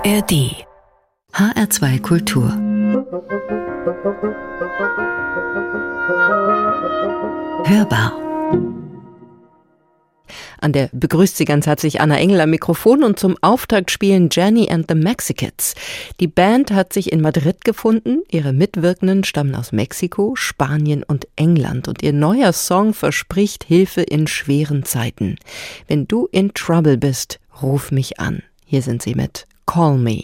ARD HR2 Kultur Hörbar. An der begrüßt Sie ganz herzlich Anna Engel am Mikrofon und zum Auftakt spielen Jenny and the Mexicats. Die Band hat sich in Madrid gefunden, ihre Mitwirkenden stammen aus Mexiko, Spanien und England und ihr neuer Song verspricht Hilfe in schweren Zeiten. Wenn du in Trouble bist, ruf mich an. Hier sind sie mit Call Me.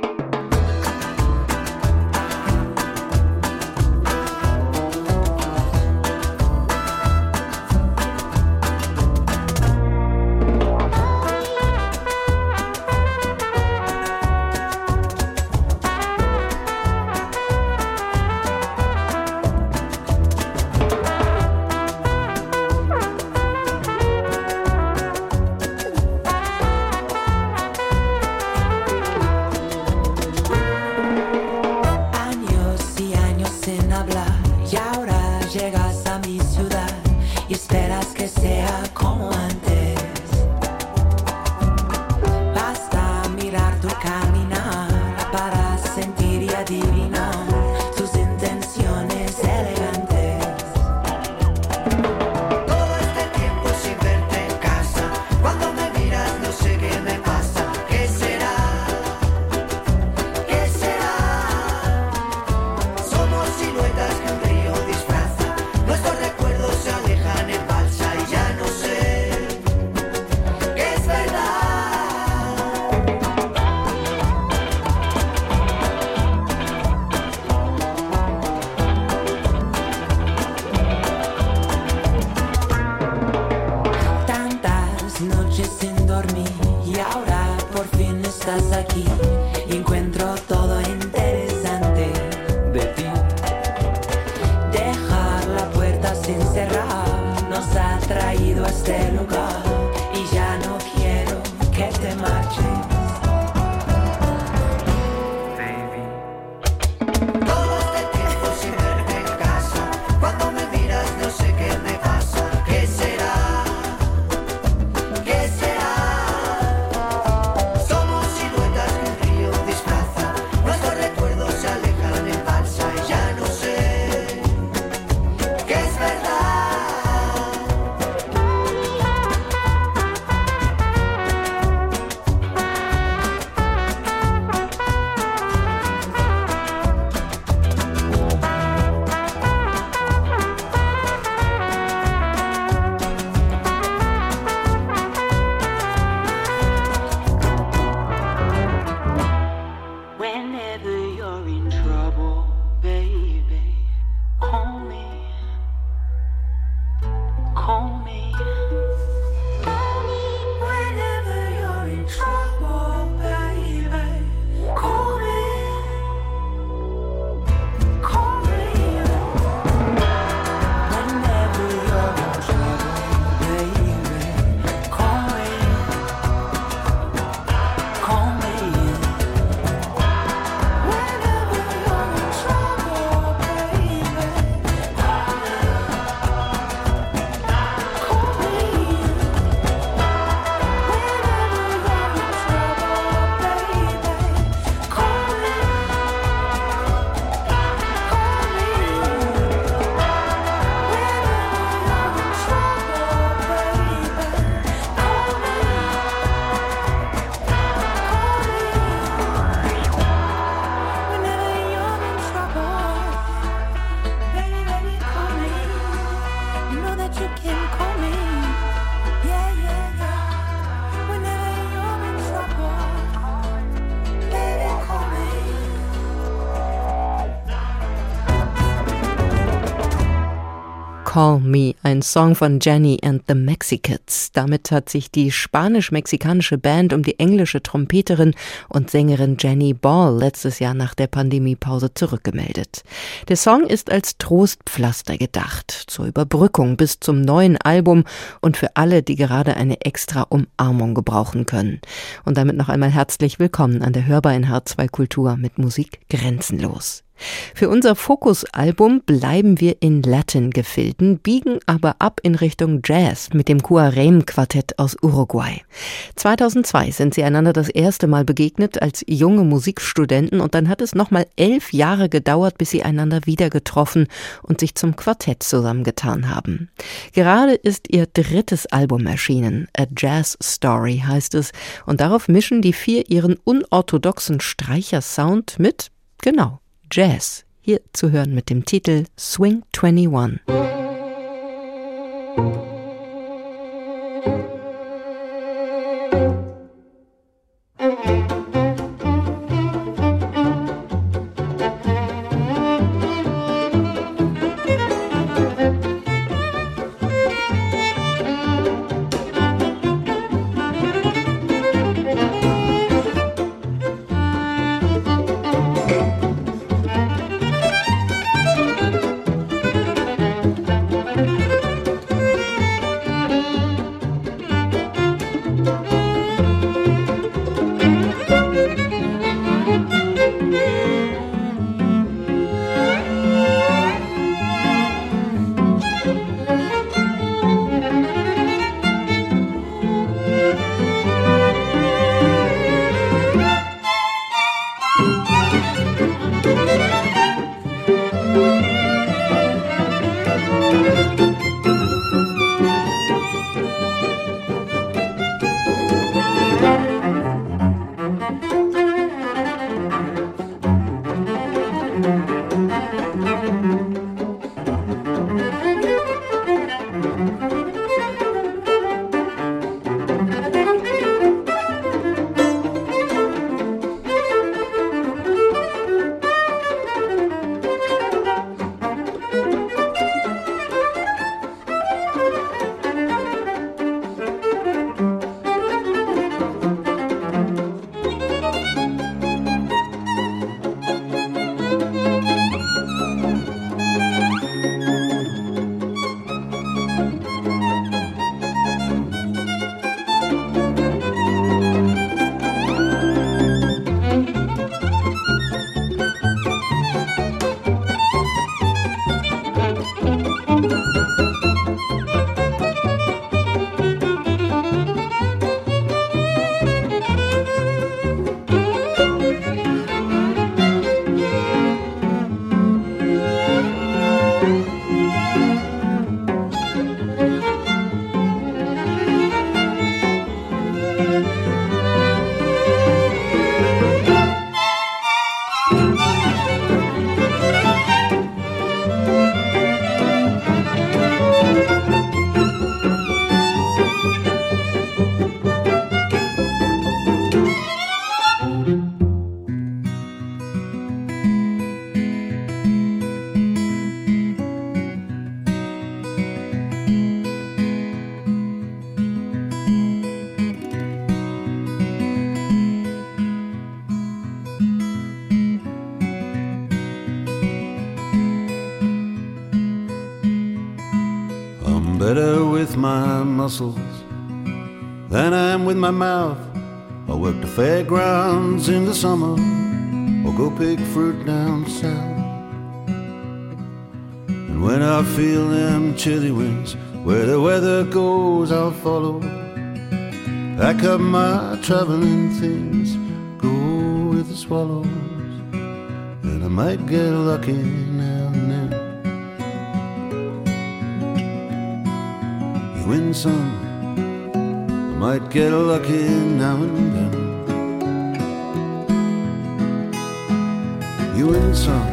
Call Me, ein Song von Jenny and the Mexicats. Damit hat sich die spanisch-mexikanische Band um die englische Trompeterin und Sängerin Jenny Ball letztes Jahr nach der Pandemiepause zurückgemeldet. Der Song ist als Trostpflaster gedacht, zur Überbrückung bis zum neuen Album und für alle, die gerade eine extra Umarmung gebrauchen können. Und damit noch einmal herzlich willkommen an der Hörbar in H2 Kultur mit Musik grenzenlos. Für unser Fokus-Album bleiben wir in Latin-Gefilden, biegen aber ab in Richtung Jazz mit dem Cuarem-Quartett aus Uruguay. 2002 sind sie einander das erste Mal begegnet als junge Musikstudenten und dann hat es nochmal 11 Jahre gedauert, bis sie einander wieder getroffen und sich zum Quartett zusammengetan haben. Gerade ist ihr drittes Album erschienen, A Jazz Story heißt es, und darauf mischen die vier ihren unorthodoxen Streichersound mit, genau, Jazz, hier zu hören mit dem Titel Swing 21. Better with my muscles than I am with my mouth. I work the fairgrounds in the summer or go pick fruit down south. And when I feel them chilly winds, where the weather goes I'll follow. Pack up my traveling things, go with the swallows, and I might get lucky now and then. You win some, I might get lucky now and then. You win some.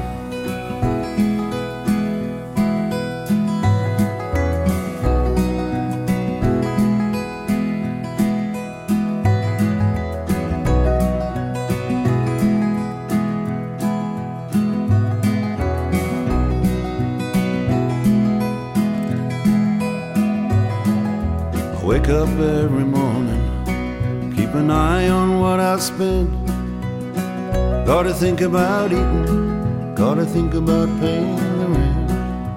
Wake up every morning, keep an eye on what I spend. Gotta think about eating, gotta think about paying the rent.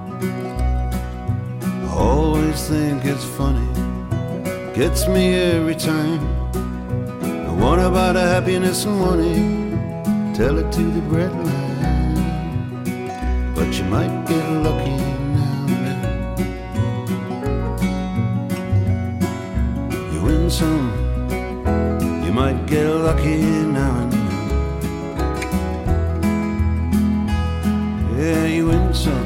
I always think it's funny, gets me every time. The one about a happiness and money, tell it to the breadline. but you might get lucky now and then. You win some, you might get lucky now and then. Yeah, you win some.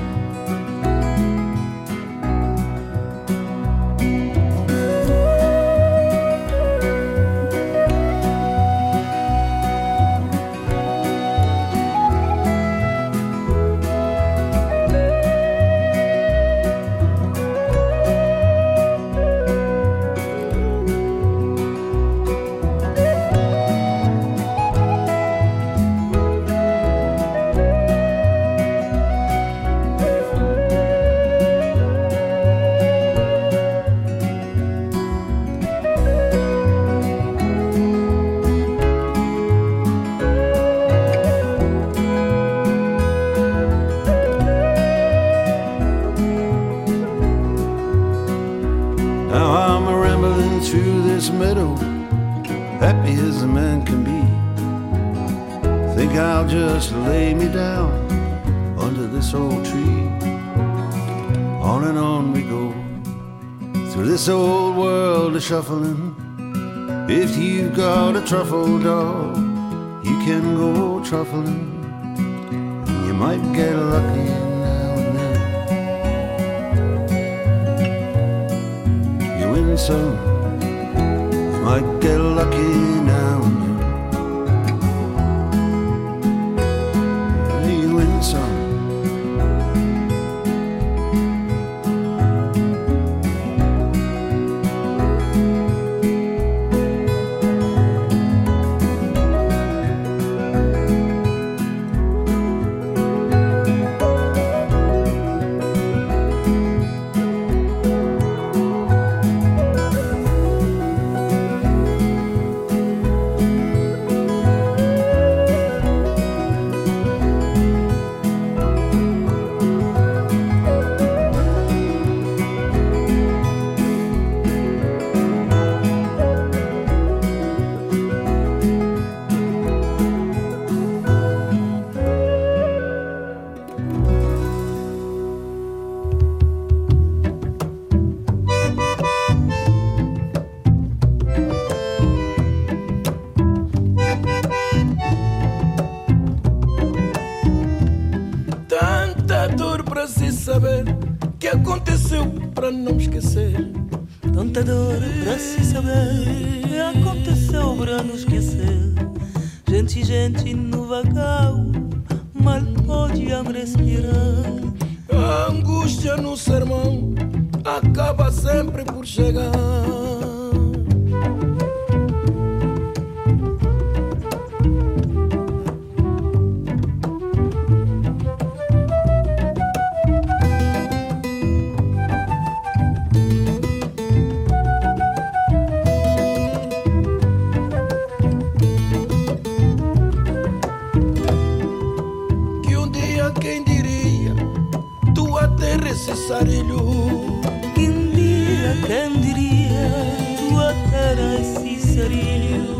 Happy as a man can be. Think I'll just lay me down under this old tree. On and on we go through this old world of shuffling. If you've got a truffle dog, you can go truffling, and you might get lucky now and then. You win some, might get lucky now and then. You win some. Saber que aconteceu pra não esquecer. Tanta dor pra se saber que aconteceu pra não esquecer. Gente no vagal mal podiam respirar. A angústia no sermão acaba sempre por chegar. Quem diria, tua terra esse sarilho.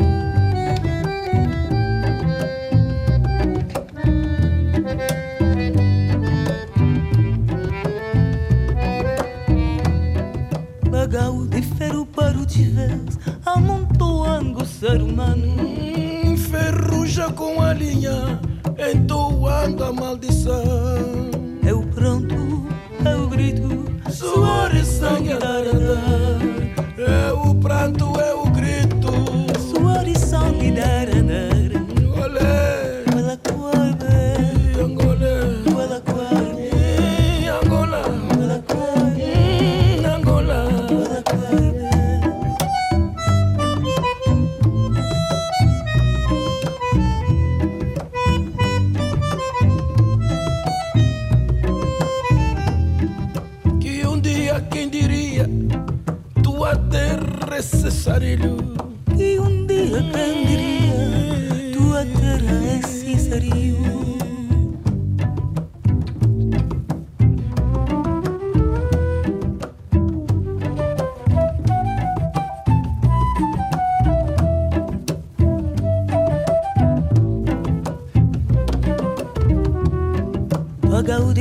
Bagal de ferro para o tivés, amontoando o ser humano. Ferruja com a linha, entoando a maldição. É o pronto, é o grito, suor e sangue a dar. É o pranto, é o grito, suor e sangue dar. Olé, Wala Kwabe, Angola, Wala Kwabe, Angola, Wala Kwabe, Angola, Wala Kwabe. Quem diria, tua terra esse sarilho. E um dia quem diria, tua terra esse sarilho.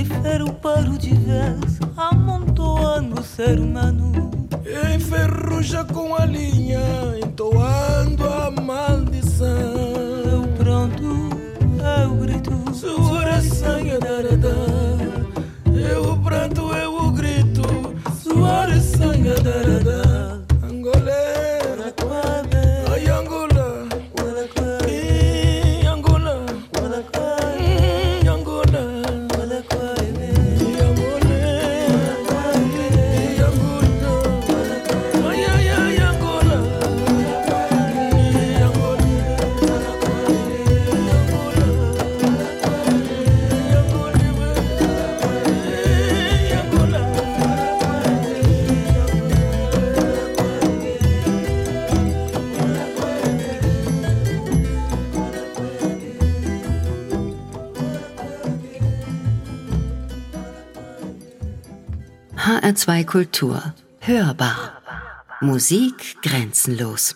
ferro para o diverso, amontoando o ser humano. Enferruja com a linha, entoando a maldição. Eu pronto, eu grito, sua oração é darada. Eu pranto, eu grito, sua oração é darada. Angolera, ai Angola, Angola, HR2 Kultur. Hörbar. Musik grenzenlos.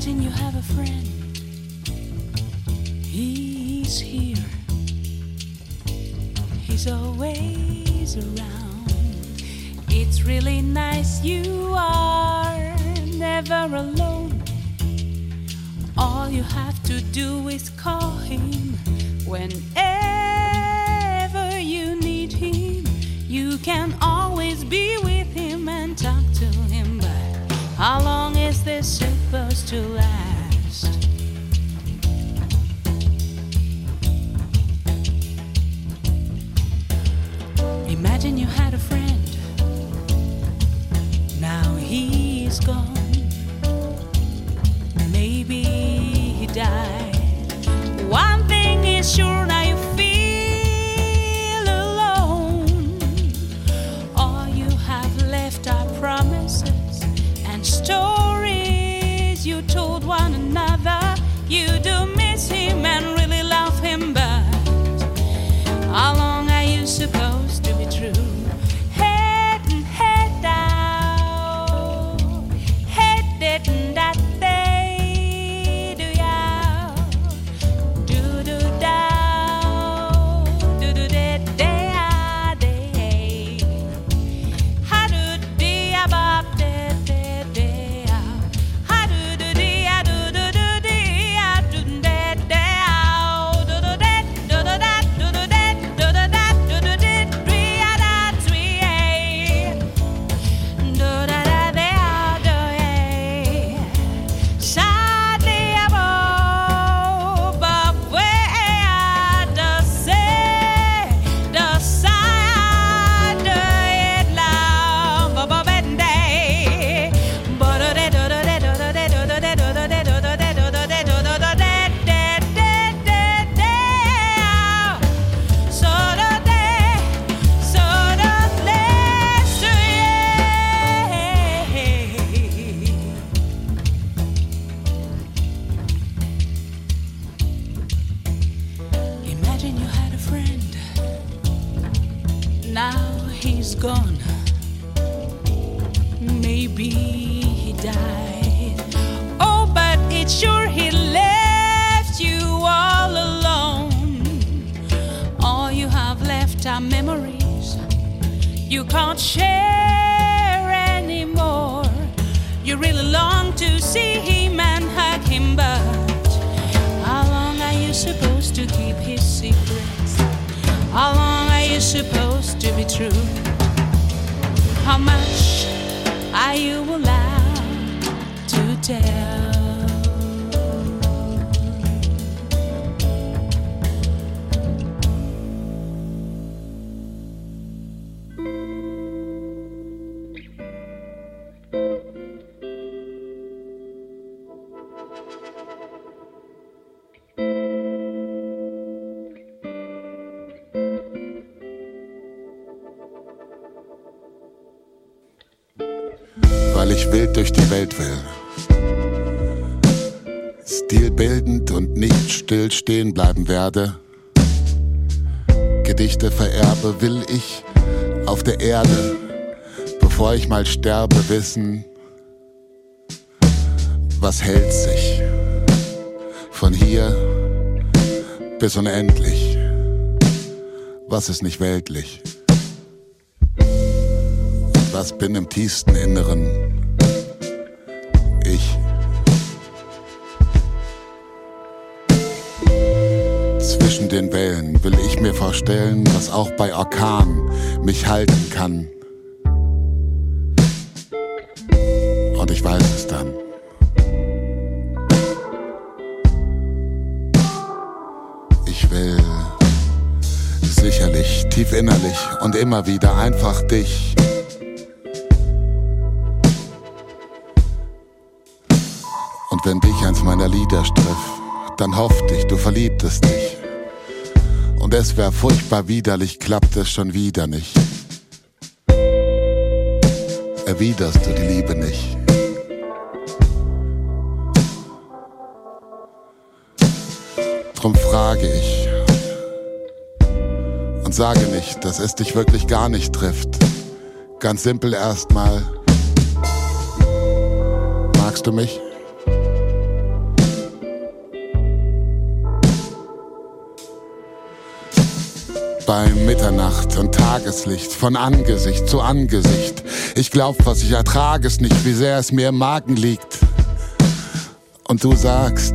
Imagine you have a friend. He's here. He's always around. It's really nice you are never alone. All you have to do is call him whenever you need him. You can always be with him and talk to him, but how long is this supposed to last? Imagine you had a friend. Now he's gone. Maybe he died. One thing is sure, now you feel alone. All you have left are promises and stories you told one another. You do miss him and really love him, but how long are you supposed to be true? Head and head down, head and that day, do ya? Do do down, do do day day day. How do day about day day day? How do do day do do do day do day day do do day do do that do do that do do that do do day three that three do da da day do yeah. Sadly above, but where the say the side it long above and day, but do do do do do do do do do do do do do so the day, so the less Imagine you had a friend. Now he's gone. Maybe he died. Oh, but it's sure he left you all alone. All you have left are memories you can't share anymore. You really long to see him and hug him, but how long are you supposed to keep his secrets? How long are you supposed to be true? How much are you allowed to tell? Weil ich wild durch die Welt will. Stilbildend und nicht still stehen bleiben werde. Gedichte vererbe, will ich auf der Erde, bevor ich mal sterbe, wissen, was hält sich von hier bis unendlich, was ist nicht weltlich. Was bin im tiefsten Inneren? Ich. Zwischen den Wellen will ich mir vorstellen, was auch bei Orkan mich halten kann. Und ich weiß es dann. Ich will sicherlich, tief innerlich und immer wieder einfach dich. Und wenn dich eins meiner Lieder striff, dann hoffte ich, du verliebtest dich. Und es wär furchtbar widerlich, klappt es schon wieder nicht. Erwiderst du die Liebe nicht? Drum frage ich und sage nicht, dass es dich wirklich gar nicht trifft. Ganz simpel erstmal. Magst du mich? bei Mitternacht und Tageslicht, von Angesicht zu Angesicht. Ich glaub, was ich ertrage, ist nicht, wie sehr es mir im Magen liegt. Und du sagst,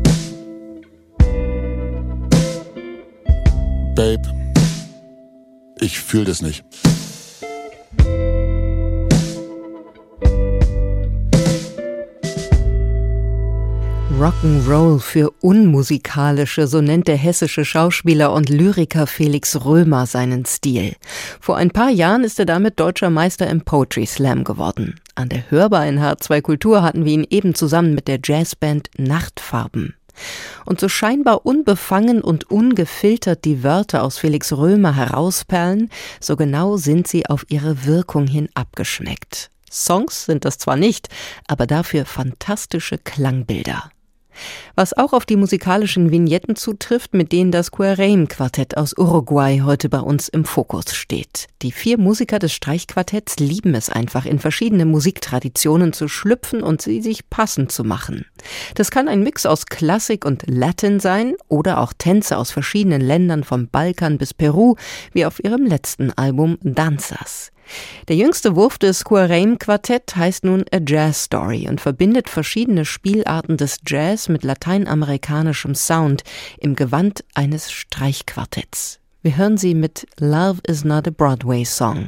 Babe, ich fühl das nicht. Rock'n'Roll für Unmusikalische, so nennt der hessische Schauspieler und Lyriker Felix Römer seinen Stil. Vor ein paar Jahren ist er damit deutscher Meister im Poetry Slam geworden. An der Hörbar in H2 Kultur hatten wir ihn eben zusammen mit der Jazzband Nachtfarben. Und so scheinbar unbefangen und ungefiltert die Wörter aus Felix Römer herausperlen, so genau sind sie auf ihre Wirkung hin abgeschmeckt. Songs sind das zwar nicht, aber dafür fantastische Klangbilder. Was auch auf die musikalischen Vignetten zutrifft, mit denen das Querrem-Quartett aus Uruguay heute bei uns im Fokus steht. Die 4 Musiker des Streichquartetts lieben es einfach, in verschiedene Musiktraditionen zu schlüpfen und sie sich passend zu machen. Das kann ein Mix aus Klassik und Latin sein oder auch Tänze aus verschiedenen Ländern vom Balkan bis Peru, wie auf ihrem letzten Album Danzas. Der jüngste Wurf des Querrem-Quartett heißt nun A Jazz Story und verbindet verschiedene Spielarten des Jazz mit lateinamerikanischem Sound im Gewand eines Streichquartetts. Wir hören sie mit Love is not a Broadway Song.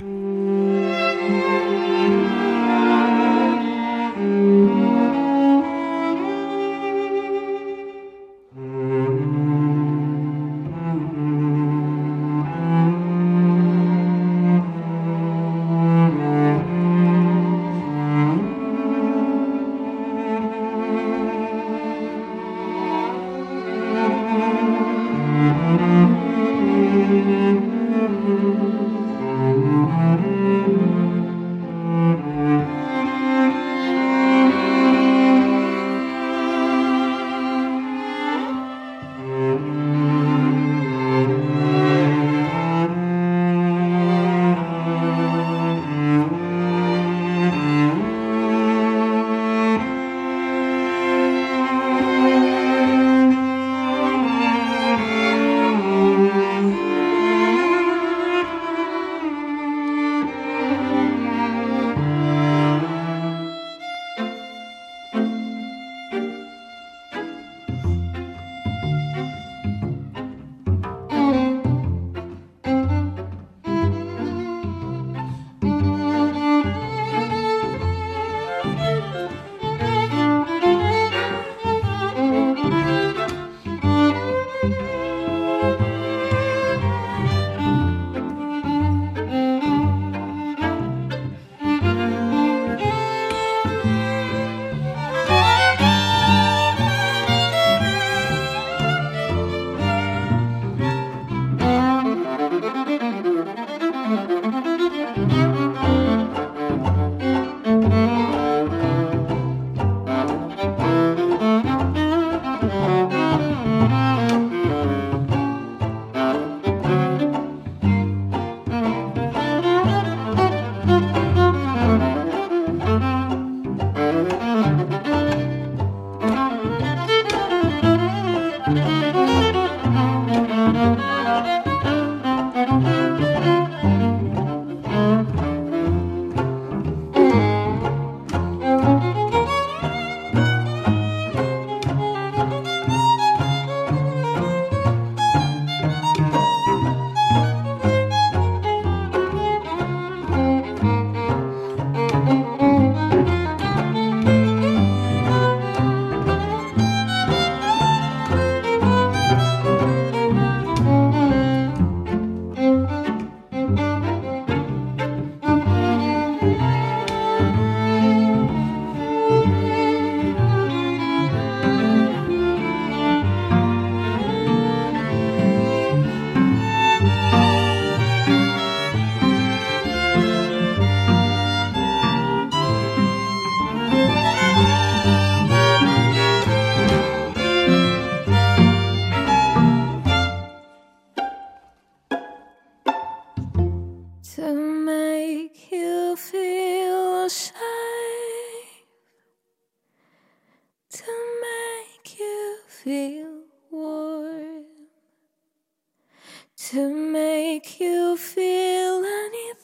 to make you feel anything.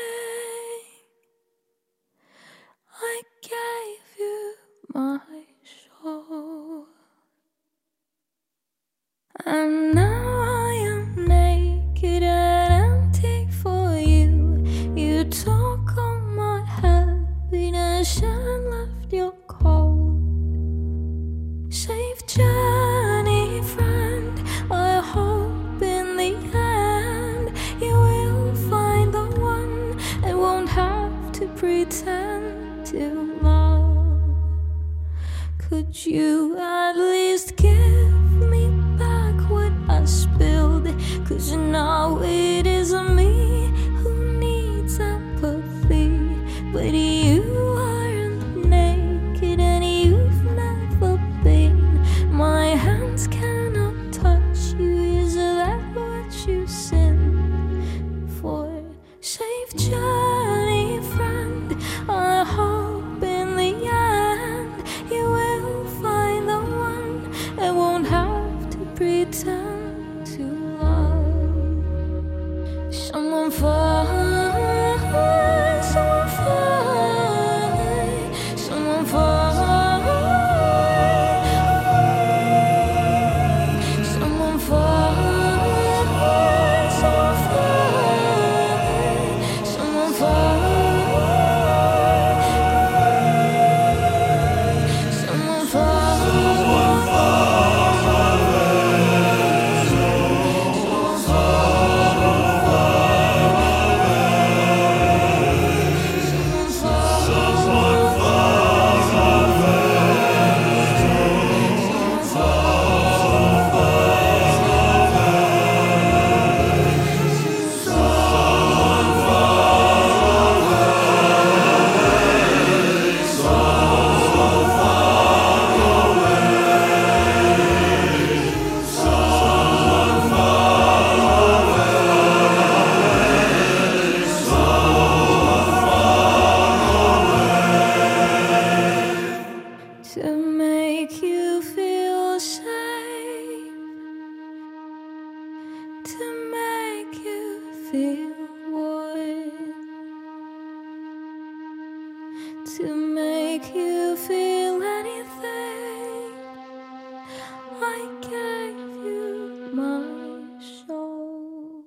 I gave you my soul, and now I am naked and empty for you. You took all my happiness and left your cold. Safe journey, friend. I hope in the end you will find the one and won't have to pretend to love. Could you at least give me back what I spilled? 'Cause now it is me who needs empathy. But you aren't naked and you've never been. My hands cannot touch you. Is that what you sin for? Safe journey, friend. I hope in the end you will find the one and won't have to pretend to love. Someone fine, someone fine, someone fine. Someone fine, someone fine, someone fine, someone to make you feel safe, to make you feel warm, to make you feel anything. I gave you my soul.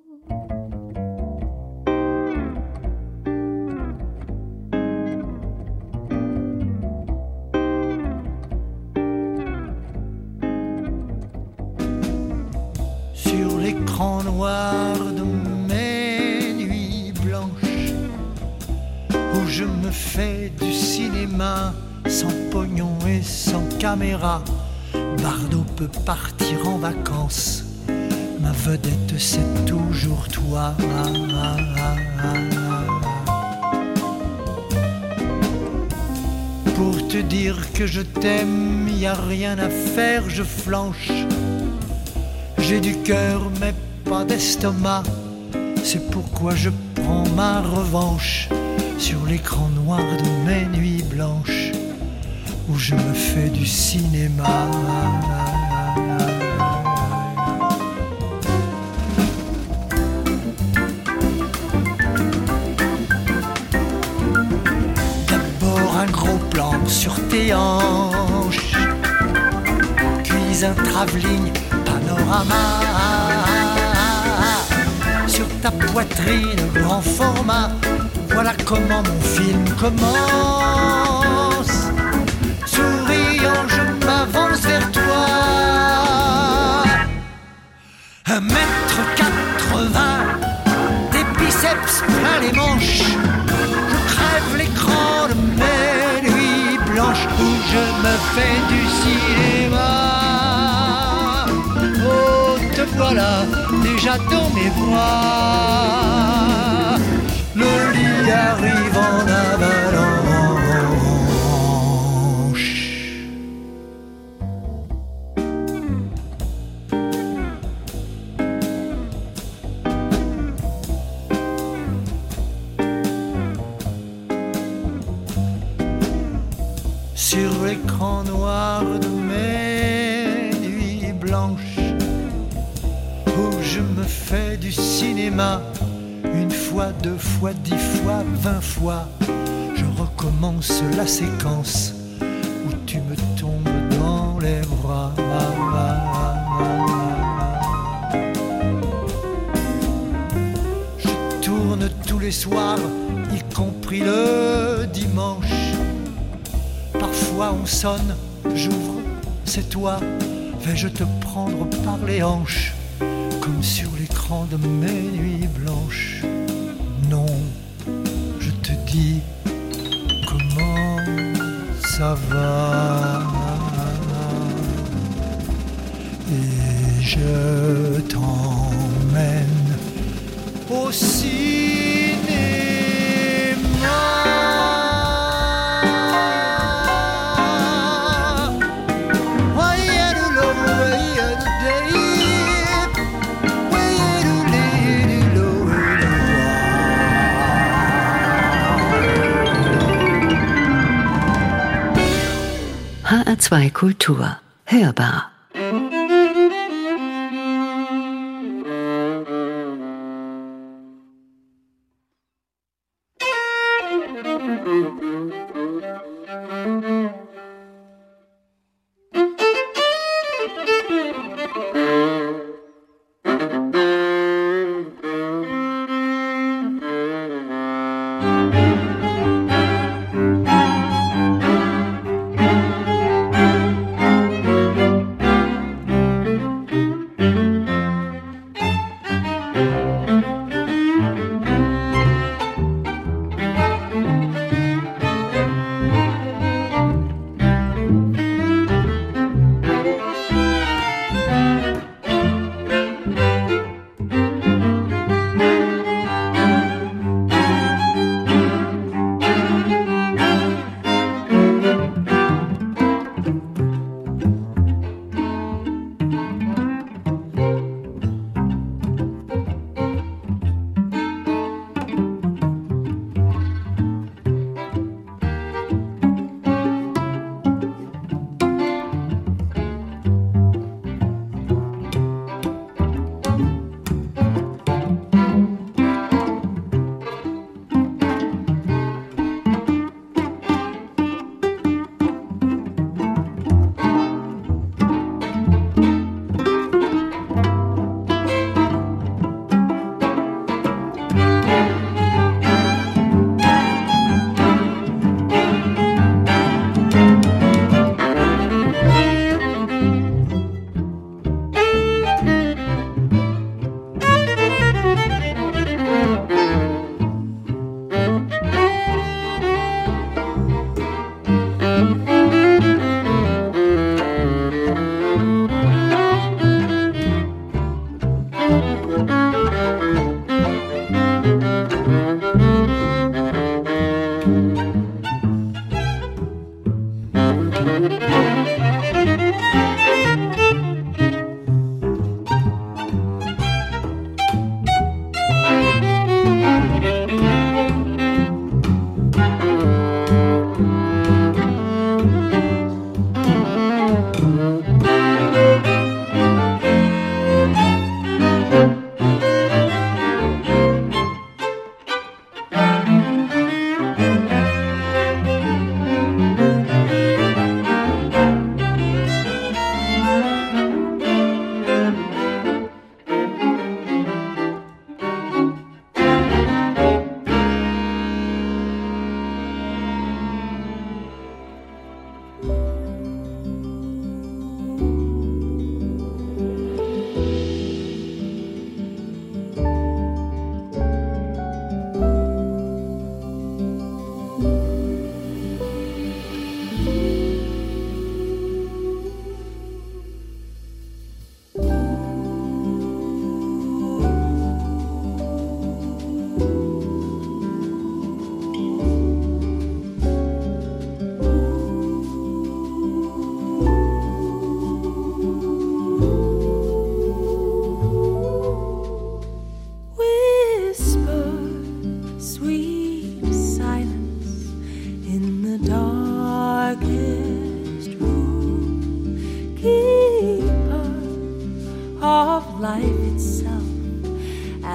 Sur l'écran noir de mes nuits blanches, où je me fais du cinéma sans pognon et sans caméra. Bardot peut partir en vacances, ma vedette c'est toujours toi. Pour te dire que je t'aime, y a rien à faire, je flanche. J'ai du cœur mais pas d'estomac, c'est pourquoi je prends ma revanche sur l'écran noir de mes nuits blanches, où je me fais du cinéma. D'abord un gros plan sur tes hanches, puis un travelling panorama sur ta poitrine grand format. Voilà comment mon film commence. Souriant je m'avance vers toi. 1m80, des biceps plein les manches. Je crève l'écran de mes nuits blanches, où je me fais du cinéma. Oh, te voilà déjà dans mes bras. Le lit arrive en avalanche. Sur l'écran noir de mes nuits blanches, où je me fait du cinéma. Une fois, 2 fois, 10 fois, 20 fois, je recommence la séquence où tu me tombes dans les bras. Je tourne tous les soirs, y compris le dimanche. Parfois on sonne, j'ouvre, c'est toi. Vais-je te prendre par les hanches, comme sur l'écran de mes nuits blanches? Non, je te dis comment ça va. Et je t'emmène au cinéma. HR2 Kultur. Hörbar.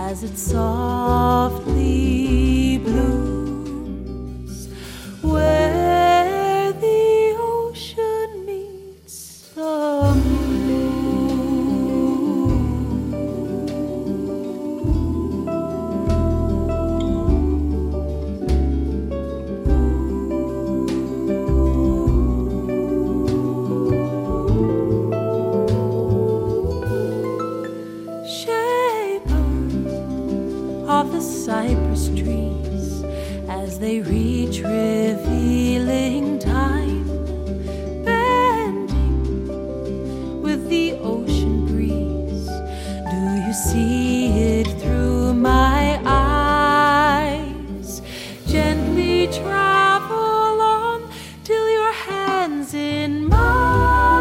as it softly blooms, where the ocean meets the moon. Of the cypress trees as they reach revealing time, bending with the ocean breeze. Do you see it through my eyes? Gently travel on till your hands in mine.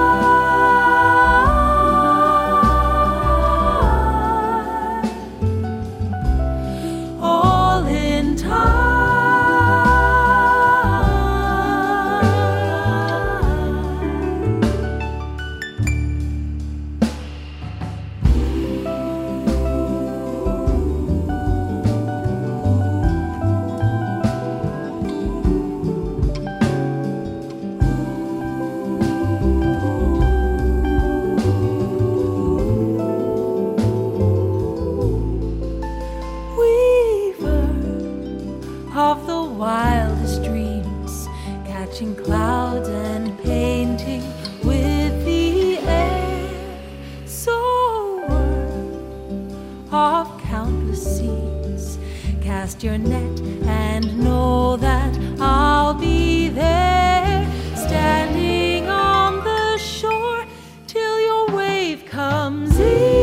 Of the wildest dreams, catching clouds and painting with the air, sower of countless seas, cast your net and know that I'll be there, standing on the shore till your wave comes in.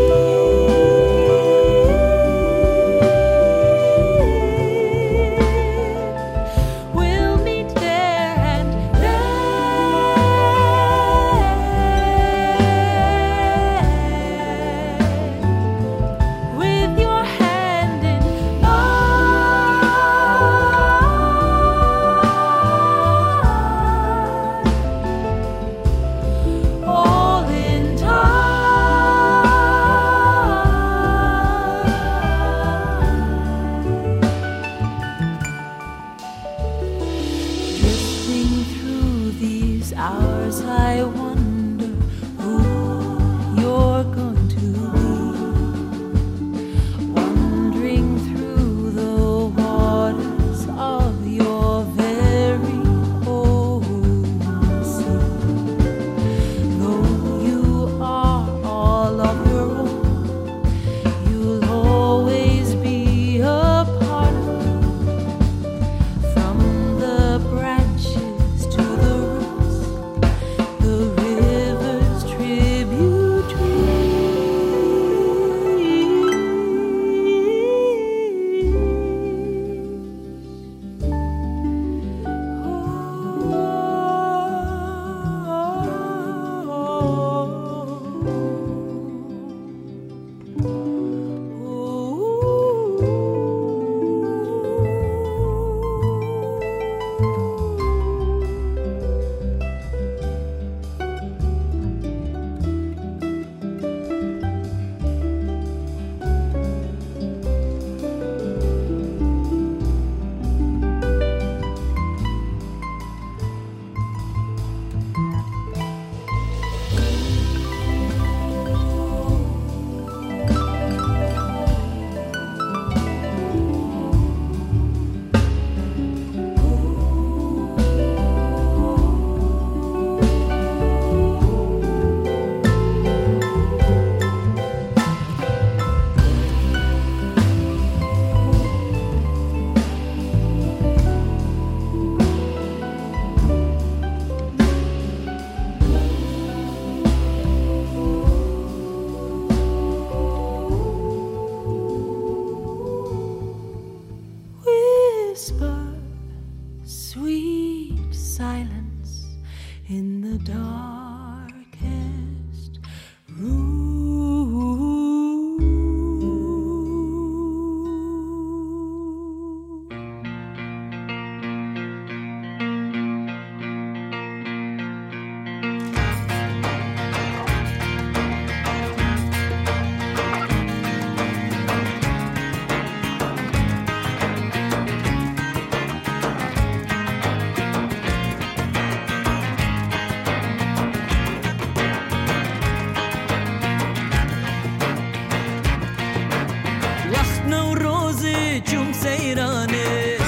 نوروزي چون سیرانه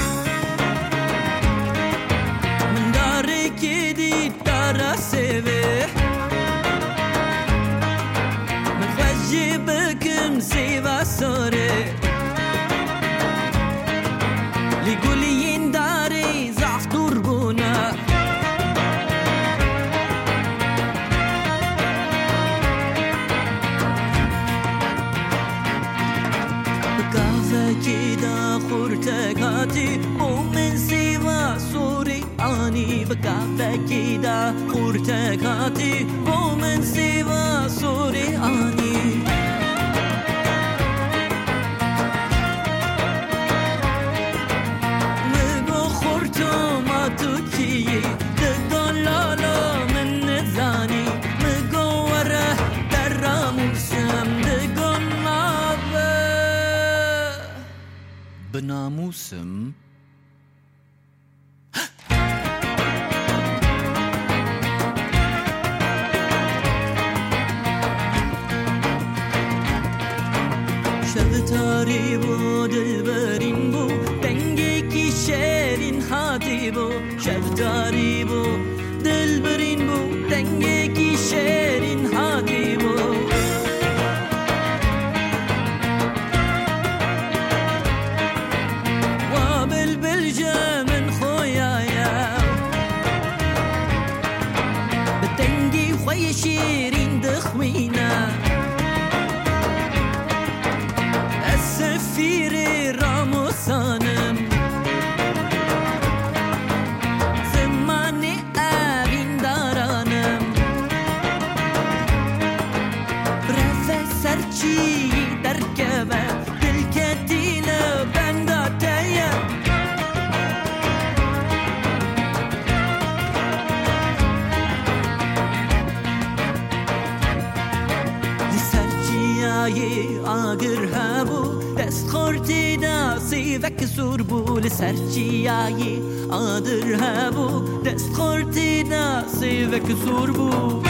من داره که دید داره سوه من خوشی بکم سیوه ساره لگولین داره زعف دربونه كده خورتك هاتي ومن سوا سوري اني بكافة كده خورتك هاتي ومن سوا سوري اني مگو خورتو ما توكي دقون لالا من نزاني مگو وره در موسم دقون بناموسم شب تاری بو دلبرین بو دنگی کی شیرین هاتی بو شب تاری بو دلبرین بو دنگی کی شیرین هاتی بو شيرين دخوينا السفير راموسانم زماني أبين دارانم بروفيسورچي دركبه دلكتينه بنداتيه آگر هبو دست خورتی دا سیوک سور بو لسرچی آیی آدر هبو دست خورتی دا سیوک سور بو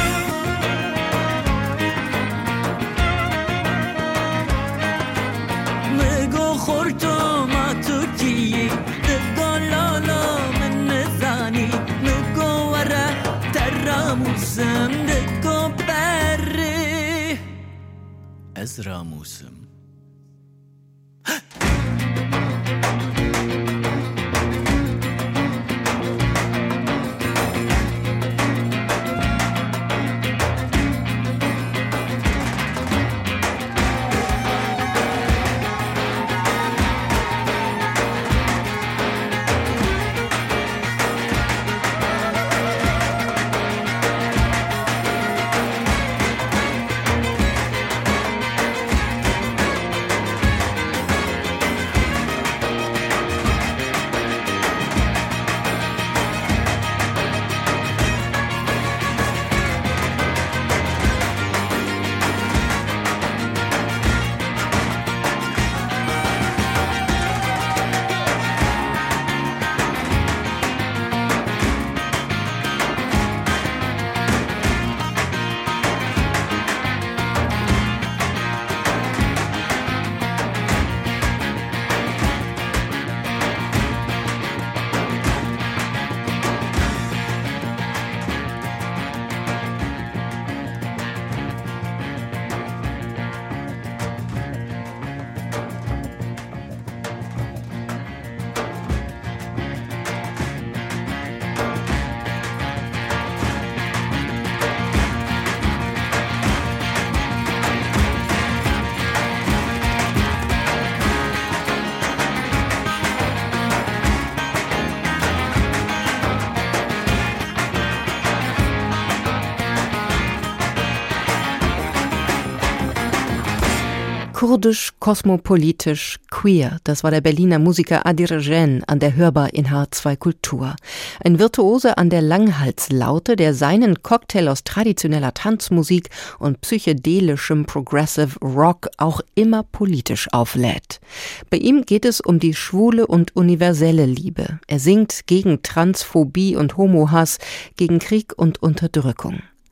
مگو خورتو ما توکی دگان لالا من نزانی مگو وره تراموسم دگو بره از راموسم Kurdisch, kosmopolitisch, queer, das war der Berliner Musiker Adirjen an der Hörbar in H2 Kultur. Ein Virtuose an der Langhalslaute, der seinen Cocktail aus traditioneller Tanzmusik und psychedelischem Progressive Rock auch immer politisch auflädt. Bei ihm geht es um die schwule und universelle Liebe. Er singt gegen Transphobie und Homohass, gegen Krieg und Unterdrückung.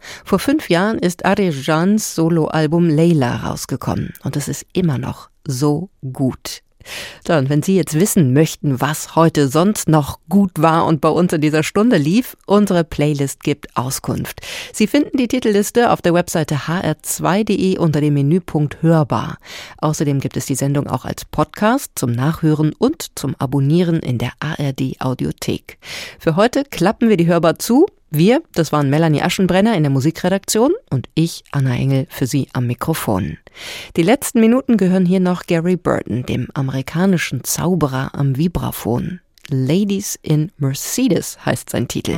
Vor 5 Jahren ist Arejans Soloalbum Layla rausgekommen und es ist immer noch so gut. So, und wenn Sie jetzt wissen möchten, was heute sonst noch gut war und bei uns in dieser Stunde lief, unsere Playlist gibt Auskunft. Sie finden die Titelliste auf der Webseite hr2.de unter dem Menüpunkt Hörbar. Außerdem gibt es die Sendung auch als Podcast zum Nachhören und zum Abonnieren in der ARD Audiothek. Für heute klappen wir die Hörbar zu. Wir, das waren Melanie Aschenbrenner in der Musikredaktion und ich, Anna Engel, für Sie am Mikrofon. Die letzten Minuten gehören hier noch Gary Burton, dem amerikanischen Zauberer am Vibraphon. Ladies in Mercedes heißt sein Titel.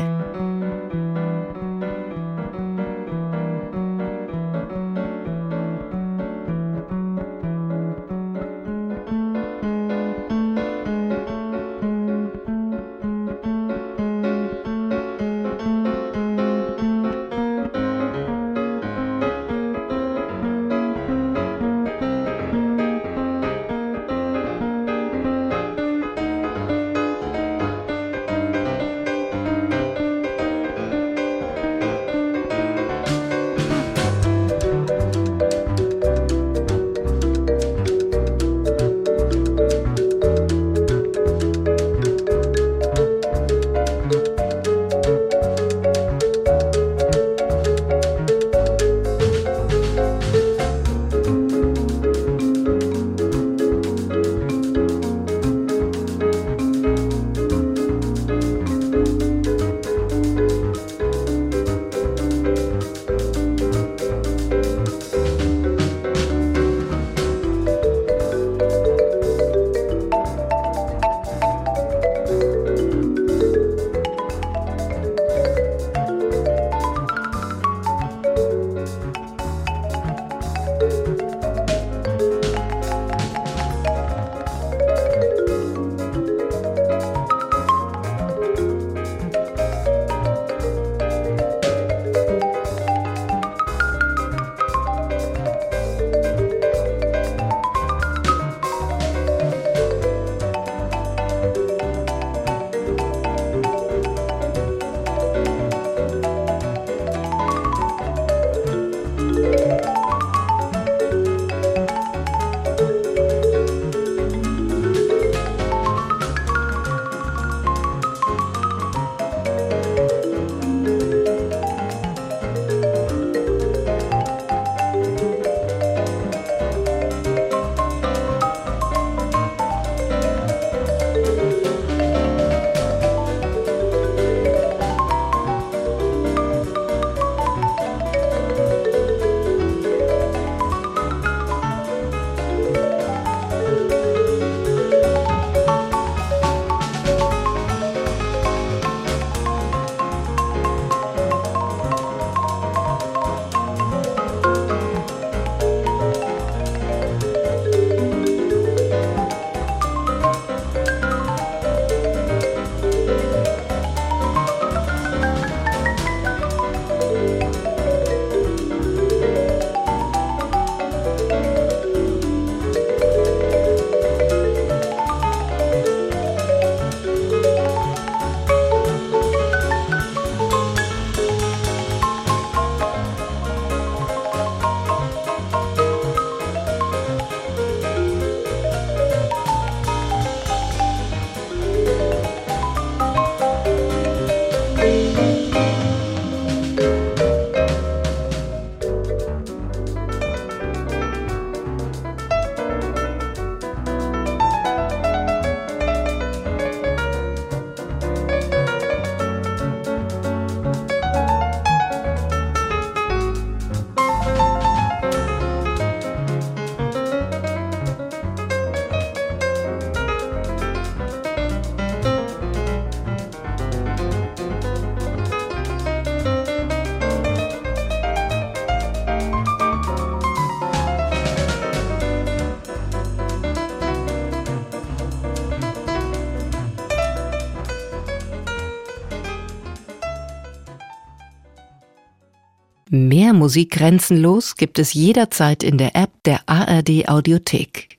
Mehr Musik grenzenlos gibt es jederzeit in der App der ARD Audiothek.